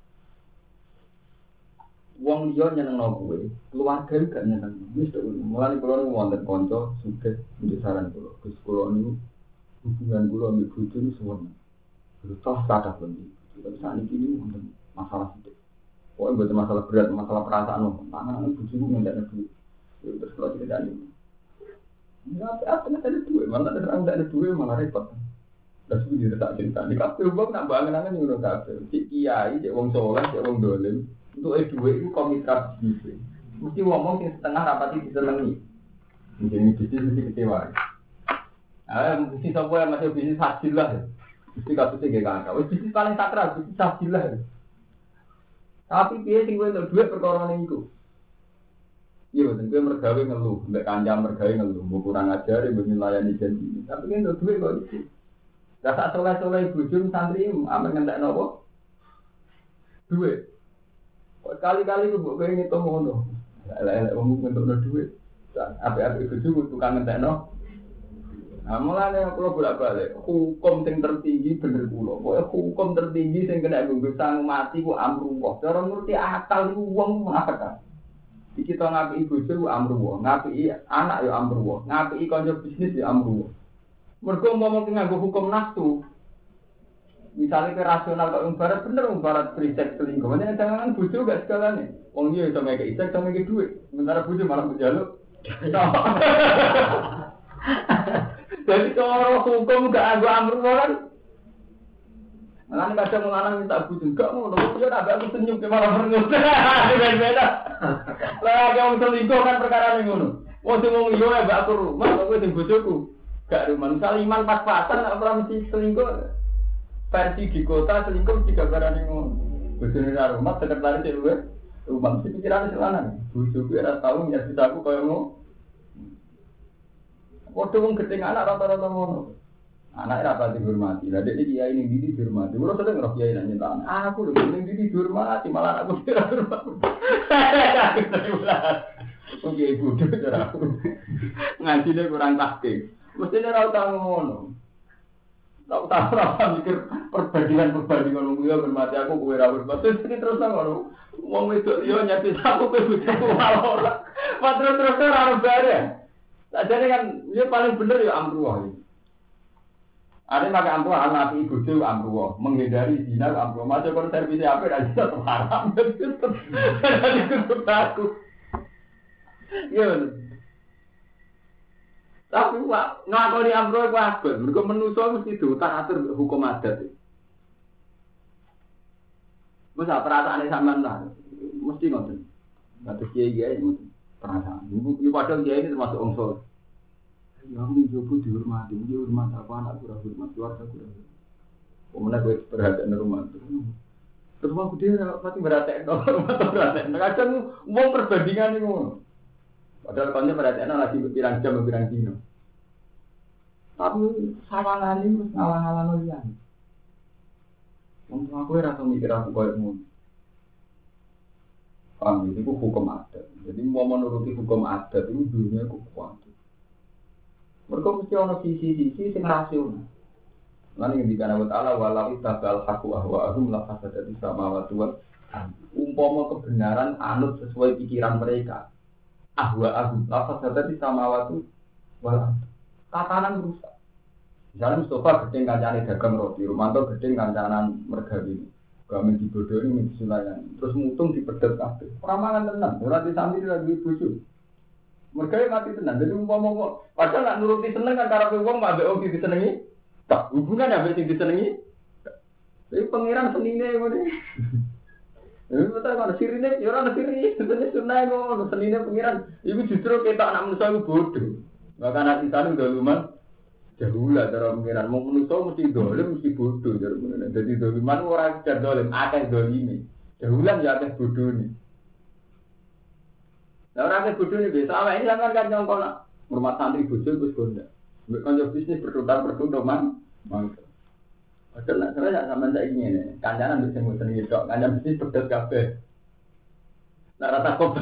Wong liya nyenengno kowe, keluarga juga nyenengno. Wis to, mulane kula nu wonten kanca sugih njuk saran kula. Gus kula niku hubungan kula mbek bojo niku suwun. Terus kathah bendi. Tapi sakniki niku wonten masalah sithik. Pokoke mboten masalah berat, masalah perasaan. Tangan bojo niku ngendakne duit. Terus kula dikendani. Enggak apa nak ada duit, malah ada orang tak ada duit malah repot. Dah sudah tak cerita. Di kafe bang nak bangun-bangun yang udah kafe. Cik kiai, cik wong soleh, cik wong dolim. Untuk eh duit itu komitra bisnis. Mesti ngomong yang setengah rapati disenangi. Mungkin bisnis mesti kecewa. Ah, mesti siapa yang masih bisnis hasil lah. Mesti kasusnya gak kakak. Wes bisnis paling sakral, bisnis hasil lah. Tapi dia sing untuk duit perkara niku. Iya, tentu mergawe ngeluh, mbak kanjang mergawe ngeluh, mau kurang ajar, ibu melayani janji. Tapi kan untuk duit kok itu. Rasa soleh-soleh bujum santri, aman ngendak nopo, duit. Kali-kali ibu pengen ngitung ngono, lelek umum untuk no duit. Apa-apa bujum tukang ngendak no. Nah, mulanya kalau bolak-balik, hukum yang tertinggi bener pulau. Pokoknya hukum tertinggi yang kena gugus sang mati ku amruwah. Cara ngerti akal itu uang apa? Kita ngapi bojo amruwah, ngapi anak ya amruwah, ngapi kanca bisnis ya amruwah. Mergo ngomong nganggo hukum nafsu. Misalnya ke rasional kok umbarat bener umbarat free sex selingkuh. Makanya jangan bojo gak segalanya. Wong dia iso ngeke isek sama ngeke duit. Sementara bojo malah menjaluk. Jadi kalau hukum gak nganggo amruwah kan Nanti kadang menganang minta bojo enggak ngono, bojo tak aku senyum ke malah merengut. Beda-beda. Lah yang selingkuh kan perkara ngono. Wong sing wong liya mbak aku rumah, kok kowe sing bojoku. Gak rumah. Misal iman pas-pasan ora mesti selingkuh. Versi di kota selingkuh juga barane ngono. Bojone ra rumah sekretaris luwe. Rumah mesti pikirane selanan. Bojoku ora tau nyasi aku koyo ngono. Waktu wong gedeng anak rata-rata ngono. Anak rapat dihormati. Lah dek iki kiai ning ndi dihormati. Kulo sering ngroh kiai nang nyentak. Aku lho ning ndi dihormati malah aku ora hormati. Oke ibu cara aku. Ngajine kurang taktik. Mestine ora tau ngono. Tak tahu ora mikir perbandingan-perbandingan wong liya hormati aku kowe ora hormati. Terus ngono. Wong wedok liya nyati aku kowe bojoku malah ora. Padahal terus ora bare. Sajane kan dia paling bener ya amruwah. Ada pakai amruwah, anak ibu itu amruwah, menghindari zina amruwah. Macam kalau servis apa dan zina terharam, jadi itu aku. Iya. Tapi wah ngakoni amruwah itu apa? Mereka menuso mesti diutar atur hukum adat. Masa perasaan sampean lah, mesti ngoten. Atus kiai-kiai ngoten perasaan. Ibu padahal kiai ini termasuk unsur. Ya aku mencoba dihormati, dia hormat apa anak kurang hormat, keluarga kurang hormat. Kemudian gue perhatian rumah itu. Terus aku dia pasti berhatian dong, atau berhatian. Kadang mau perbandingan itu. Padahal kalau perhatian lagi berpirang jam, berpirang dino. Tapi sawangan ini ngalang-alang liyan. Wong aku ora tau mikir aku koyo ngono. Paham itu hukum adat. Jadi mau menuruti hukum adat itu dunia itu kuat. Mereka mesti ada sisi-sisi yang rasional. Lalu yang dikatakan Allah Ta'ala walau itabal haqqu ahwa'ahum la fasadati samawati wal ardh. Umpama kebenaran anut sesuai pikiran mereka. Ahwa'ahum la fasadati samawati wal ardh. Tatanan rusak. Misalnya Mustafa gedeng kancane dagang roti, Romanto gedeng kancanan mergawi. Kami dibodohi minta sulayan. Terus mutung dipedet kabeh. Ora mangan tenan, ora disambi lagi bojo. Mergawe mati tenan. Jadi umpama kok padahal nak nuruti seneng kan karepe wong mbak mbek wong disenengi. Tak hubungan ambek sing disenengi. Tapi pangeran senine ngene. Lha betul kan sirine ya ora sirine, sebenarnya sunah ngono, senine pangeran. Iku justru ketok anak manusa iku bodoh. Maka anak kita udah lumayan jauh lah cara pangeran. Mau manusa mesti dolim mesti bodoh cara pangeran. Jadi doliman ora sekedar dolim, akeh dolime. Jauh lah ya akeh bodone. Lah ora akeh bodone biasa awake iki sampean kan nyongkon rumah santri bojo wis gonda. Mbek kanca bisnis bertukar-bertukar man. Mangke. Padahal nek saya sampean saiki ngene, kancanan bisa mboten iki tok, kancan bisnis pedes kabeh. Nek rata kok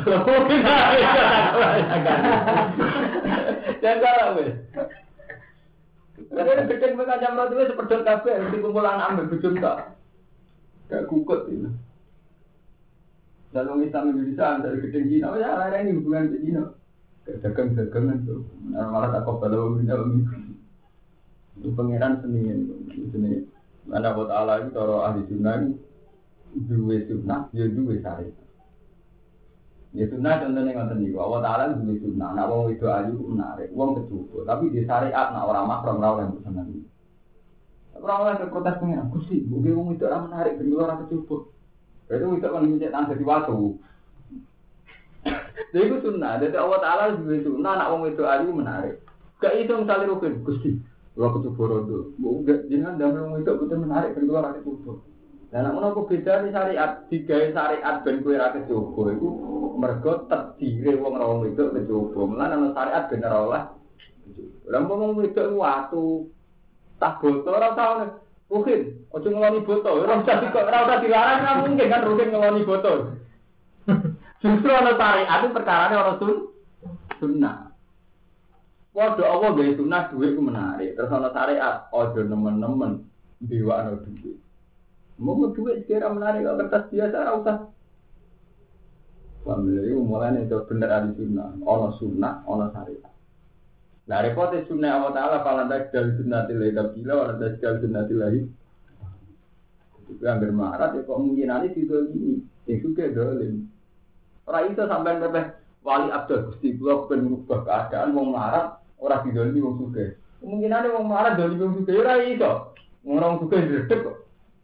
jangan wes. Karena gedeng mereka jam roti wes sepedot kabeh, mesti kumpulan ambil bujum tak. Gak kukut ini. Dalam Islam Indonesia dari gedeng Cina, ya ada ini hubungan ke Cina. Dagang-dagangan tuh, malah tak kau kalau minta minggu. Itu pangeran seni, seni. Mana buat Allah itu kalau ahli sunnah itu dua sunnah, dia dua syariat. Ya sunnah contohnya nggak seni. Allah Taala dua sunnah. Nak wong itu ayu menarik, wong kecukup. Tapi di syariat nak orang makrom orang yang bersenang. Orang-orang yang protes pangeran, kusi, mungkin wong itu orang menarik, dan orang kecukup. Itu itu kan mencet tanda di waktu. Jadi itu sunnah. Jadi Allah Taala dua sunnah. Nak wong itu ayu menarik. Gak itu misalnya rukun, kusi. Kalau kecukup rodo, enggak jangan dalam wong itu betul menarik, dan orang kecukup. Dan nak menapa beda di syariat, digawe syariat ben kowe ra kecoba iku mergo terdiri wong ra wong wedok kecoba. Mulane ana syariat ben ora oleh. Lah wong wedok watu tak boto ora tau. Rukin, ojo ngeloni boto, ora usah kok ora usah dilarang kan mungkin kan rukin ngeloni boto. Justru ana syariat itu perkarane ora sun sunnah. Padha apa gawe sunnah dhuwit ku menarik. Terus ana syariat ojo nemen-nemen diwakno dhuwit. Mau duit sekira menarik kalau kertas biasa, tak usah. Alhamdulillah, itu mulai itu benar ada sunnah, ono sunnah, ono syariat. Nah, repotnya sunnah Allah Taala, kalau anda sekali sunnah tilai tabila, kalau anda sekali sunnah tilai. Itu yang bermarat, ya kok mungkin nanti itu ini, yang suka dolim. Orang itu sampai berpeh wali abdul, gusti gua bukan mengubah keadaan, mau marah, orang didolimi, orang suka. Mungkin nanti orang marah, dolimi, orang suka, ya orang itu. Orang suka diredek kok.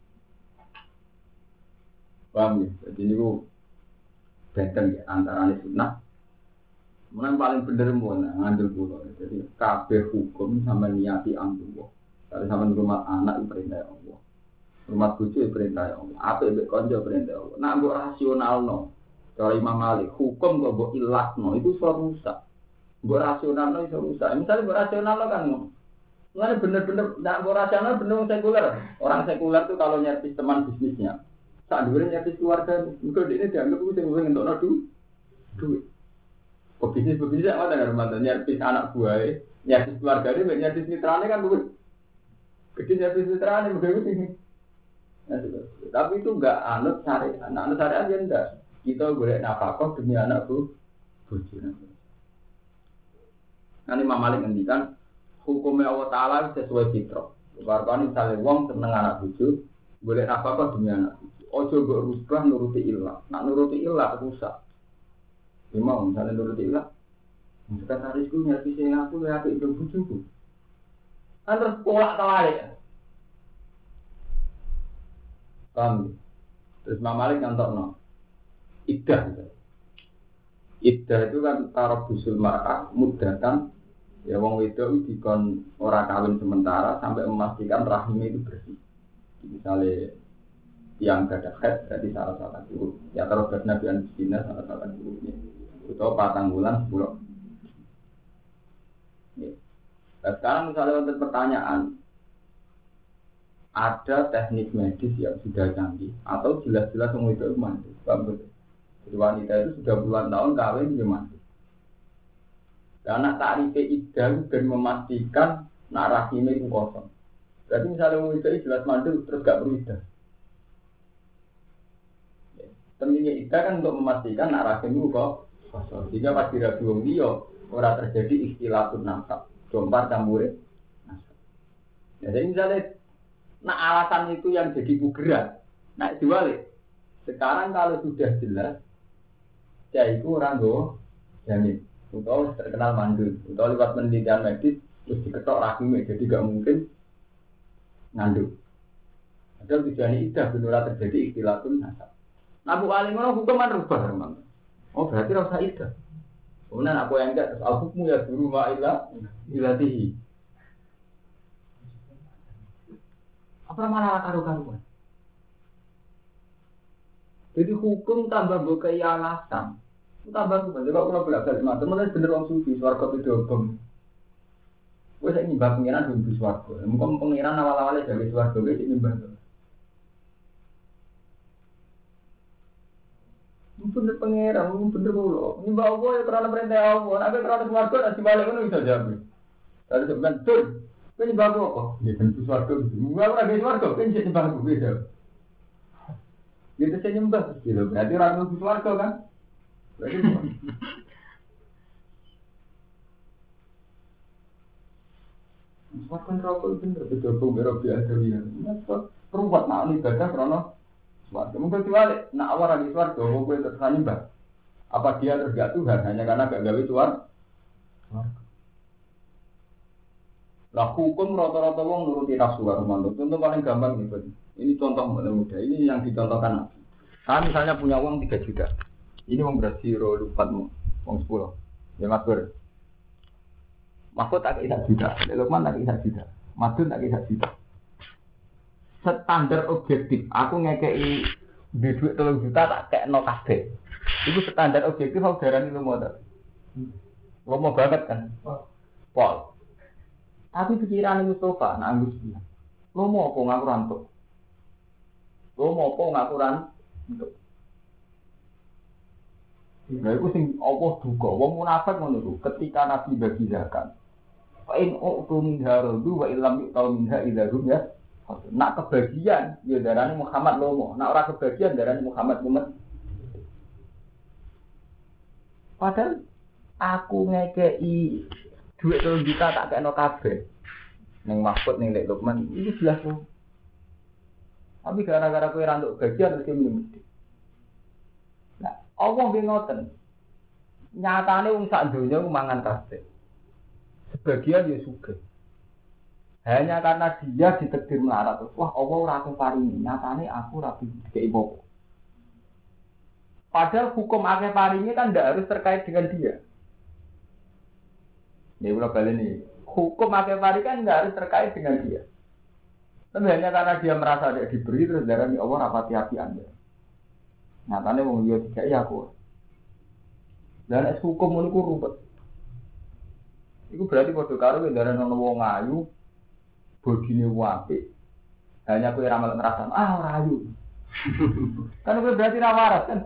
Paham ya? Jadi ini ku benten ya, antara sunnah. Mana paling bener mana ngambil pulau. Jadi kabeh hukum sama niati Allah. Kalau sama rumah anak itu perintah Allah, rumah bojo itu perintah Allah. Apa itu konco perintah Allah. Nak buat rasional no. Kalau Imam Malik hukum kok buat ilat no itu suatu rusak. Buat rasional no itu rusak. Misalnya buat rasional no kan. Mana bener-bener nak buat rasional bener sekuler. Orang sekuler tuh kalau nyervis teman bisnisnya. Tak duren nyervis keluarga, mungkin ini dianggap itu yang ingin untuk nadu duit. Pebisnis-pebisnis apa dengan rumah nyervis anak buah, nyervis keluarga ini, nyervis mitranya kan duit. Gede nyervis mitranya, mungkin itu ini. Tapi itu enggak anut syariat, anut syariat dia enggak. Kita boleh nafkah demi anak bu, buju. Nanti Imam Malik ngendikan hukumnya Allah Taala sesuai fitrah. Karena misalnya wong seneng anak buju, boleh nafkah demi anak buju. Ojo mbok rubah nuruti ilah. Nak nuruti ilah rusak. Ya mau misalnya nuruti ilah. Sekretarisku nyervis aku ya apik ndang bojoku. Kan terus polak kawalik. Paham? Terus Imam Malik nyontokno. Iddah gitu. Iddah itu kan tarabusul mar'ah mudatan ya wong wedok dikon ora kawin sementara sampai memastikan rahimnya itu bersih. Misalnya yang gak ada head berarti salah salah dulu. Ya terus Nabi Anusina salah salah dulunya. Itu patang bulan sepuluh. Nah, sekarang misalnya untuk pertanyaan, ada teknik medis yang sudah canggih atau jelas-jelas yang itu mandi. Jadi wanita itu sudah puluhan tahun kawin dia mandi. Karena tarif iddah dan memastikan nak rahimnya itu kosong. Berarti misalnya mau itu jelas mandi terus gak perlu iddah. Pentingnya iddah kan untuk memastikan nak rahim itu kok kosong. Jika pas dirabi wong liya ora terjadi ikhtilatun nasab, jompar campure nasab. Ya, jadi misalnya nah alasan itu yang jadi pugeran. Nah diwalik. Sekarang kalau sudah jelas, ya itu orang go jamin. Atau terkenal mandul. Atau lewat penelitian medis terus diketok rahimnya, jadi gak mungkin ngandung. Ada tujuan idah benar terjadi ikhtilatun nasab. Nah bu alim orang hukuman rubah memang. Oh berarti rasa idah. Kemudian aku yang enggak terus al-hukmu ya duru ma'ilah ilatihi. Apa malah karu-karuan? Jadi hukum tambah bukai alasan. Tambah hukum. Jadi kalau belajar semata, mulai bener orang sufi, suarga bidobong. Gue saya nyembah pengiran dulu suarga. Mungkin pengiran awal-awalnya dari suarga, gue saya nyembah. Bener pengiran, bener dulu. Nyembah Allah ya karena perintah Allah. Nanti karena suarga, nanti balik itu bisa jawab. Tadi sebenarnya, betul. Kau nyembah aku apa? Ya tentu suarga gitu. Enggak pernah ke suarga, kau nyembah aku beda. Gitu saya nyembah gitu. Berarti orang itu suarga kan? Berarti suarga neraka itu bener beda bau merah biasa ya. Perubat nak ibadah karena suarga. Mungkin diwalik, nak awal lagi suarga, kau boleh terserah nyembah. Apa dia tergak Tuhan hanya karena gak gawe suarga? Lah hukum rata-rata wong nuruti nafsu karo manut. Contoh paling gampang nih, Pak. Ini contoh mudah. Ini yang dicontohkan. Saya misalnya punya uang tiga juta. Ini uang berarti rolupatmu, uang sepuluh. Ya Mas Bur. Mahfud tak kisah juta, Lukman tak kisah juta, Madun tak kisah juta. Standar objektif, aku ngekei duit telung juta tak kekno kabeh. Itu standar objektif aku darani lu mau tak? Lu mau banget kan? Pol. Tapi pikiran Mustafa, nak Agus bilang, lo mau apa ngaku rantuk? Lo mau apa ngaku rantuk? Nah, itu sing Allah duga. Wong munafik ngono iku. Ketika Nabi bagi zakat, fa in u'tu min haradu wa illam yu'tal minha idahum ya. Nak kebagian, ya darane Muhammad lomo. Nak ora kebagian darane Muhammad mumet. Padahal aku ngekei duit telung juta tak kena kabeh. Ning Mahfud ning Lek Lukman itu jelas loh. Tapi gara-gara kowe ra entuk bagian terus mesti. Nah, Allah nggih ngoten. Nyatane wong sak donya ku mangan kabeh. Sebagian ya sugih. Hanya karena dia ditakdir melarat terus. Wah, Allah ora aku paringi. Nyatane aku ra dikei apa. Padahal hukum akeh paringi kan ndak harus terkait dengan dia. Ini ulah balik nih. Hukum akeh paringi kan ndak harus terkait dengan dia. Tapi hanya karena dia merasa dia diberi terus darani Allah rapati hati Anda. Nyatane wong liya dikei aku. Dan es hukum ngono ku rupet. Iku berarti padha karo darani ana wong ayu bodine apik. Hanya kowe ra melok ngrasa ah ora ayu. Kan kowe berarti ra waras kan.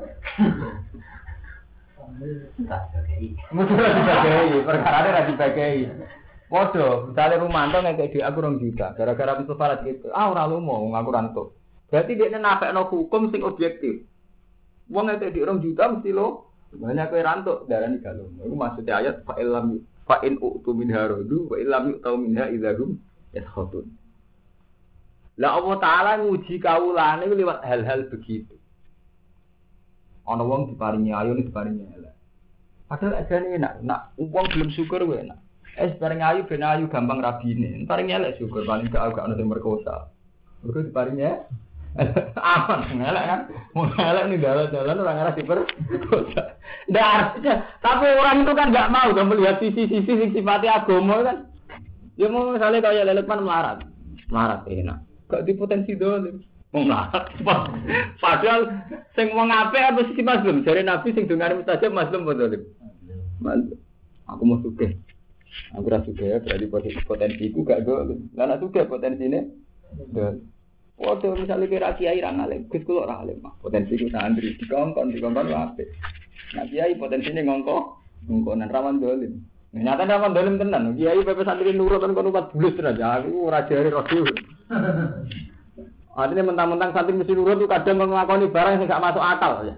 Tak dibagi. Mesti dibagi, perkarane ra dibagi. Padha, misale Rumanto ngekek aku rong juta, gara-gara itu farat gitu. Ah ora lumo wong aku rantuk. Berarti dekne nafekno hukum sing objektif. Wong ngekek rong juta mesti lo banyak kowe rantuk darani galung. Iku maksudnya ayat fa illam fa in utu min haradu wa illam yu'tau minha idzahum yaskhutun. Lah Allah Taala nguji kawulane lewat hal-hal begitu. Ana wong diparingi ayu diparingi elek. Padahal ajane enak, nak wong belum syukur wae enak. Es paring ayu ben ayu gampang rabine. Paring elek syukur paling gak gak ono sing merkosa. Mergo diparingi aman elek kan. Wong elek ning dalan-dalan ora ngarah diperkosa. Ndak artinya, tapi orang itu kan enggak mau kan melihat sisi-sisi sing sifatnya agama kan. Ya mau misalnya kaya lelepan melarat. Melarat enak. Gak di potensi dolim. Wong melarat. Padahal sing wong apik apa sisi mazlum? Jare Nabi sing dungane mustajab mazlum apa dolim? Mazlum. Aku mau sugih. Aku rasa juga ya, berarti potensi potensiku gak go. Lah nek juga potensine. Waduh, misalnya kira kiai ra ngalim, Gus kula ra alim. Potensiku santri dikongkon dikongkon wae. Nah kiai potensinya ngongko, ngongkonan rawan dolim. Nyata rawan dolim tenan. Kiai pepe santri nurut kan kono empat bulan tenan. Aku ora jare rodi. Artinya mentang-mentang santri mesti nurut itu kadang nglakoni barang sing gak masuk akal ya.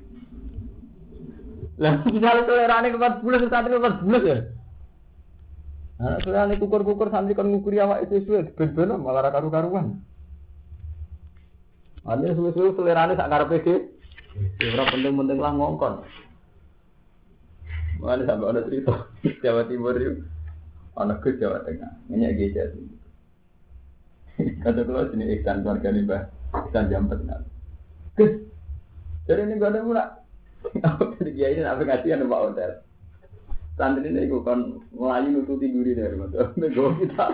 Lah misalnya tolerane empat bulan santri empat bulan ya. Nah, soalnya kukur-kukur santri kan ngukuri awak itu suwe ben-ben malah ra karu-karuan. Artinya suwe-suwe tolerane sak karepe dhewe. Ora penting-penting lah ngongkon. Mana sampai ada cerita Jawa Timur itu, anak ke Jawa Tengah, minyak gejar. Kata keluar sini ikan keluarga nih bah, ikan jam petang. Kes, jadi ini gak ada mula. Aku tadi kiai ini apa ngasih anu pak hotel. Santri ini aku kan melayu nututi duri dari mana, nego kita.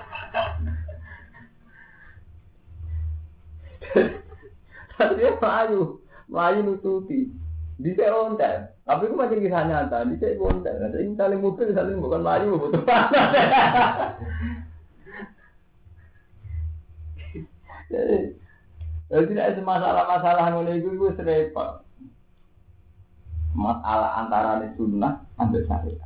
Santri melayu, melayu nututi. Di saya hotel. Tapi aku macam kisah nyata, di saya bontel. Jadi saling mobil, saling bukan maju, butuh panas. Jadi, jadi tidak ada masalah-masalah yang itu itu serempet. Masalah antara sunnah dan syariat.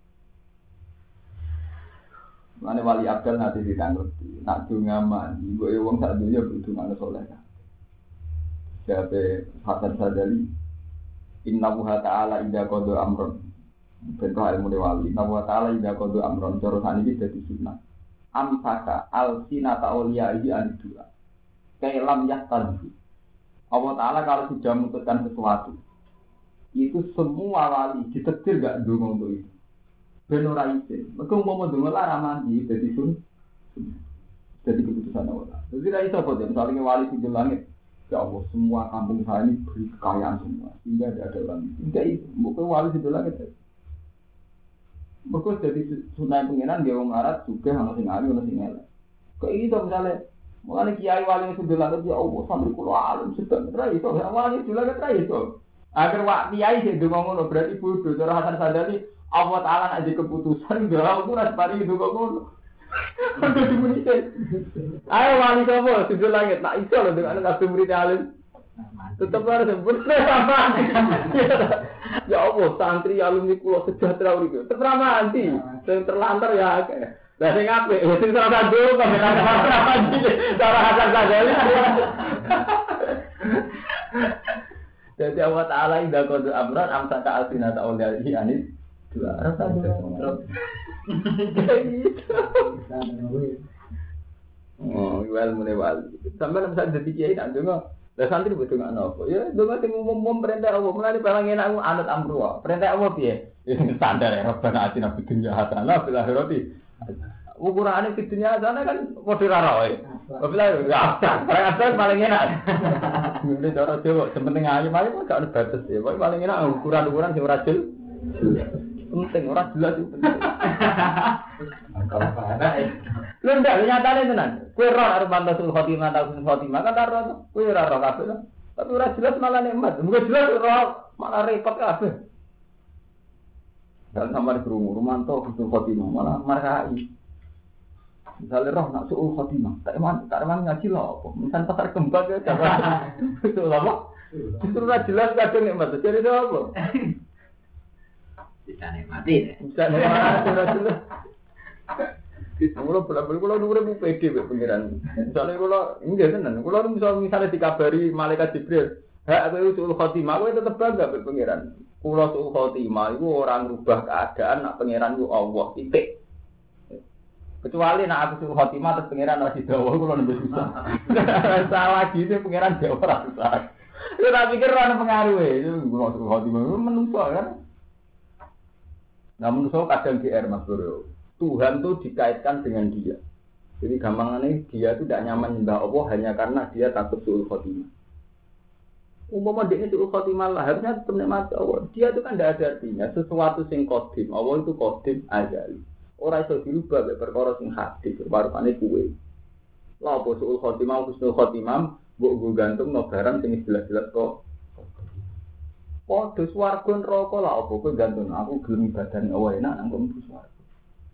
Mana wali abdal nanti ditanggung. Nak dungaman, ibu ewang saat dunia berhubungan soleh. Siapa Hasan Sadali? Inna wuha ta'ala idha kodo amron. Bentuk ilmu dewali. Inna wuha ta'ala idha kodo amron. Jorosan ini jadi sunnah. Amsaka al-sinata awliya'ihi anidua. Kailam yahtadhu. Allah Ta'ala kalau sudah memutuskan sesuatu, itu semua wali ditetir gak dong untuk itu. Benora izin. Mereka mau mendengar lah mandi. Jadi sunnah. Jadi keputusan Allah. Jadi tidak bisa kok. Misalnya wali di langit. Ya Allah, semua kampung saya ini beri kekayaan semua. Sehingga tidak ada orang. Enggak itu. Bukan wali di belakang itu. Mereka jadi sunai pengiran, dia orang Arab juga, orang sing alim, orang sing elek. Kok ini tuh misalnya, mengenai kiai wali yang sudah langit, ya Allah, sambil kulo alim, sedang terai itu. Wali sudah langit terai itu. Agar wak kiai sih, dengar ngono, berarti bodoh. Cara Hasan Sadali, Allah Ta'ala ada keputusan, dia aku rasa pari itu kok ngono. Ayo wali kamu sudah langit tak iso loh dengan anak murid alim. Tetap harus sempurna sama. Ya Allah santri alumni kulo sejahtera itu. Terama nanti yang terlantar ya. Lah sing apik sing salah dulu kok ora apa-apa cara Hasan Sadali. Jadi Allah Ta'ala indah qad amran amsaka alsinata awliya'i anis dua rasa dulu. Oh, well mulai wali. Sampai bisa jadi kiai tak dengar. Lah santri betul nggak nopo. Ya, dengar sing umum perintah Allah. Mulai barang enak anut amruwa. Perintah Allah piye? Ini standar ya. Rabbana atina fid dunya hasanah fil akhirati. Ukurane fid dunya hasanah kan padha karo wae. Bila enggak ada. Perintah paling enak. Ini cara Jawa, sementing ayu ayu kok gak ada batas ya. Paling enak ukuran-ukuran sing ora jelas. Penting ora jelas itu penting. Kalau ada eh. Lu ndak nyatane tenan. Kowe ora arep mantasul khotimah ta khotimah kan ora kowe ora ora kabeh. Tapi ora jelas malah nikmat. Mungkin jelas ora malah repot kabeh. Dan sama di rumah rumanto usul khotimah malah markai. Misalnya roh nak suul khotimah, tak eman tak eman ngaji lho apa. Misal pasar kembang ya jaga. Itu lama. Itu ora jelas kadang nikmat. Jadi apa? Bisa nikmati deh. Bisa nikmati jelas. Kulo bela-bela kulo nuwure Bu P D Pak pengiran. Misale kulo nggih tenan. Kulo misal misale dikabari malaikat Jibril, "Ha kowe usul khotimah, kowe tetep bangga Pak pengiran." Kulo usul khotimah iku ora ngrubah keadaan nak pengiran ku Allah titik. Kecuali nak aku usul khotimah terus pengiran ora didawa kulo nembus susah. Salah gitu pengiran jauh ora susah. Yo tak pikir ora pengaruhe. Kulo usul khotimah menungso kan. Namun so kadang G R Mas Bro. Tuhan itu dikaitkan dengan dia. Jadi gampangannya dia itu tidak nyaman nyembah Allah hanya karena dia takut suul khotimah. Umpama dia ini suul khotimah lah, harusnya tetap nikmati Allah. Dia itu kan tidak ada artinya. Sesuatu sing kodim, Allah itu kodim azali. Orang itu dirubah oleh perkara sing hadis, barupane kuwe. Lah apa suul khotimah, husnul khotimah, mbok gantung no barang sing jelas-jelas kok. Padha swarga neraka lah apa kowe gantung aku gelem badan Allah enak nang mlebu swarga.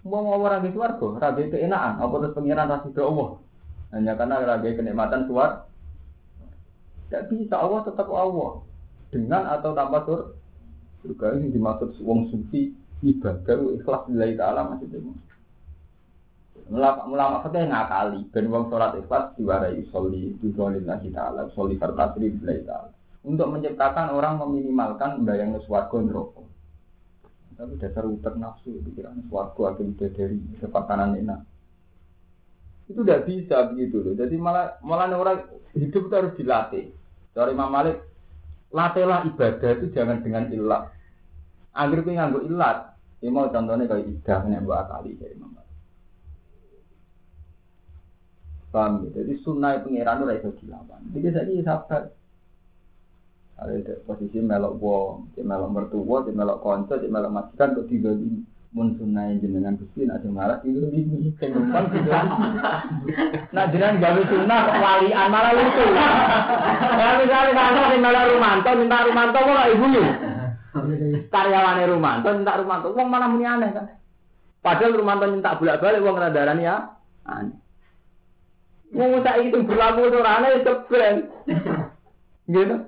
Mau mau orang di swarga, raga keenaan, apa terus pengiran rasi Allah. Hanya karena raga kenikmatan suar. Tidak bisa, Allah tetap Allah. Dengan atau tanpa sur. Surga ini dimaksud wong sufi ibadah ikhlas lillahi ta'ala maksudnya. Mulama fakih ngakali ben wong salat ikhlas diwarai sholli billahi ta'ala, sholli fartasri lillahi ta'ala. Untuk menciptakan orang meminimalkan bayang swarga neraka. Tapi dasar utek nafsu pikiran swarga akan dari sepakanan enak. Itu tidak bisa begitu loh. Jadi malah malah orang hidup itu harus dilatih. Dari Imam Malik, latihlah ibadah itu jangan dengan ilat. Agar kowe nganggo ilat, ya mau contohnya kayak idah nek mbok akali dari Imam Malik. Paham ya? Jadi sunnah pengiran ora iso dilawan. Jadi saiki sabar. Ada posisi melok wong, melok mertua, melok kanca, melok majikan kok tiga di mun sunah jenengan Gusti nek malah tiga di sing numpang tiga. Nah jenengan gawe sunah kok walian malah lucu. Ya misalnya kanca sing melok Rumanto minta Rumanto kok ibu yo. Karyawane Rumanto minta Rumanto wong malah muni aneh kan. Padahal Rumanto minta bolak-balik wong ngerandarani ya aneh. Wong saiki itu berlaku ora aneh keben. Gitu.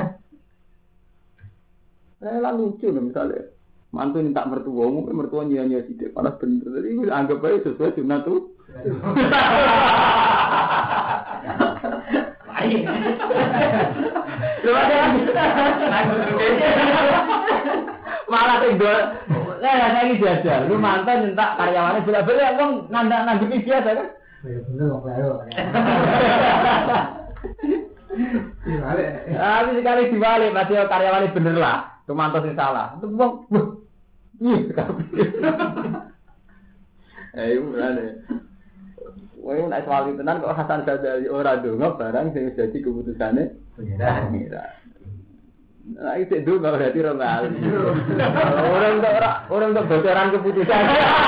Eh lah lucu loh misalnya mantu minta mertua, mungkin mertua nyanyi sidik, panas bener. Jadi gue anggap aja sesuai sunat tuh. Malah tinggal, eh lagi jajar. Lu mantan minta karyawannya bila-bila, emang ngandak nanti biasa kan? Bener kok baru. Tapi sekali dibalik, masih karyawannya bener lah. Kemantos yang salah, itu bang, iya sekali. Eh, itu berani. Wah, itu naik soal itu kok Hasan Ghazali orang dongeng barang yang jadi keputusannya. Pengira. Nah, itu dulu nggak berarti orang kali. Orang untuk orang untuk bocoran keputusan.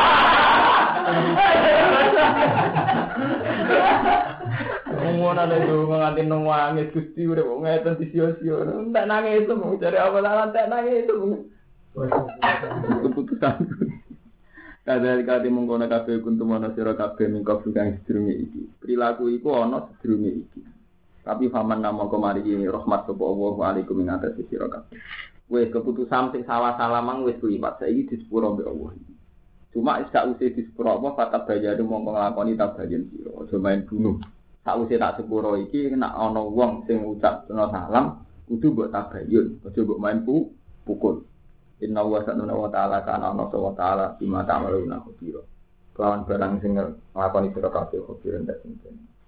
Ngomong ada itu ngantin nangis Gusti udah mau ngeten di sio-sio, tak nangis itu mau cari apa salah tak nangis itu keputusan. Kadang kali mengkono kafe kuntu mana siro kafe mingkau bukan sedurunge iki. Perilaku iku ono sedurunge iki. Tapi faman nama kemari ini rahmat kepada Allah alaikum min atas siro kafe. Wes keputusan sing salah-salah mang wes kulipat saiki di sepuro mbek Allah. Cuma iska usih di sepuro apa fatab bayar mongko nglakoni tabayan siro, aja main bunuh. Sakwise tak sepuro iki nek ana wong sing ngucap salam kudu mbok tabayun, aja mbok main pu, pukul. Inna wa subhanahu wa ta'ala kana ana wa ta'ala bima ta'maluna khabira. Kawan barang sing nglakoni sira kabeh khabir ndak sing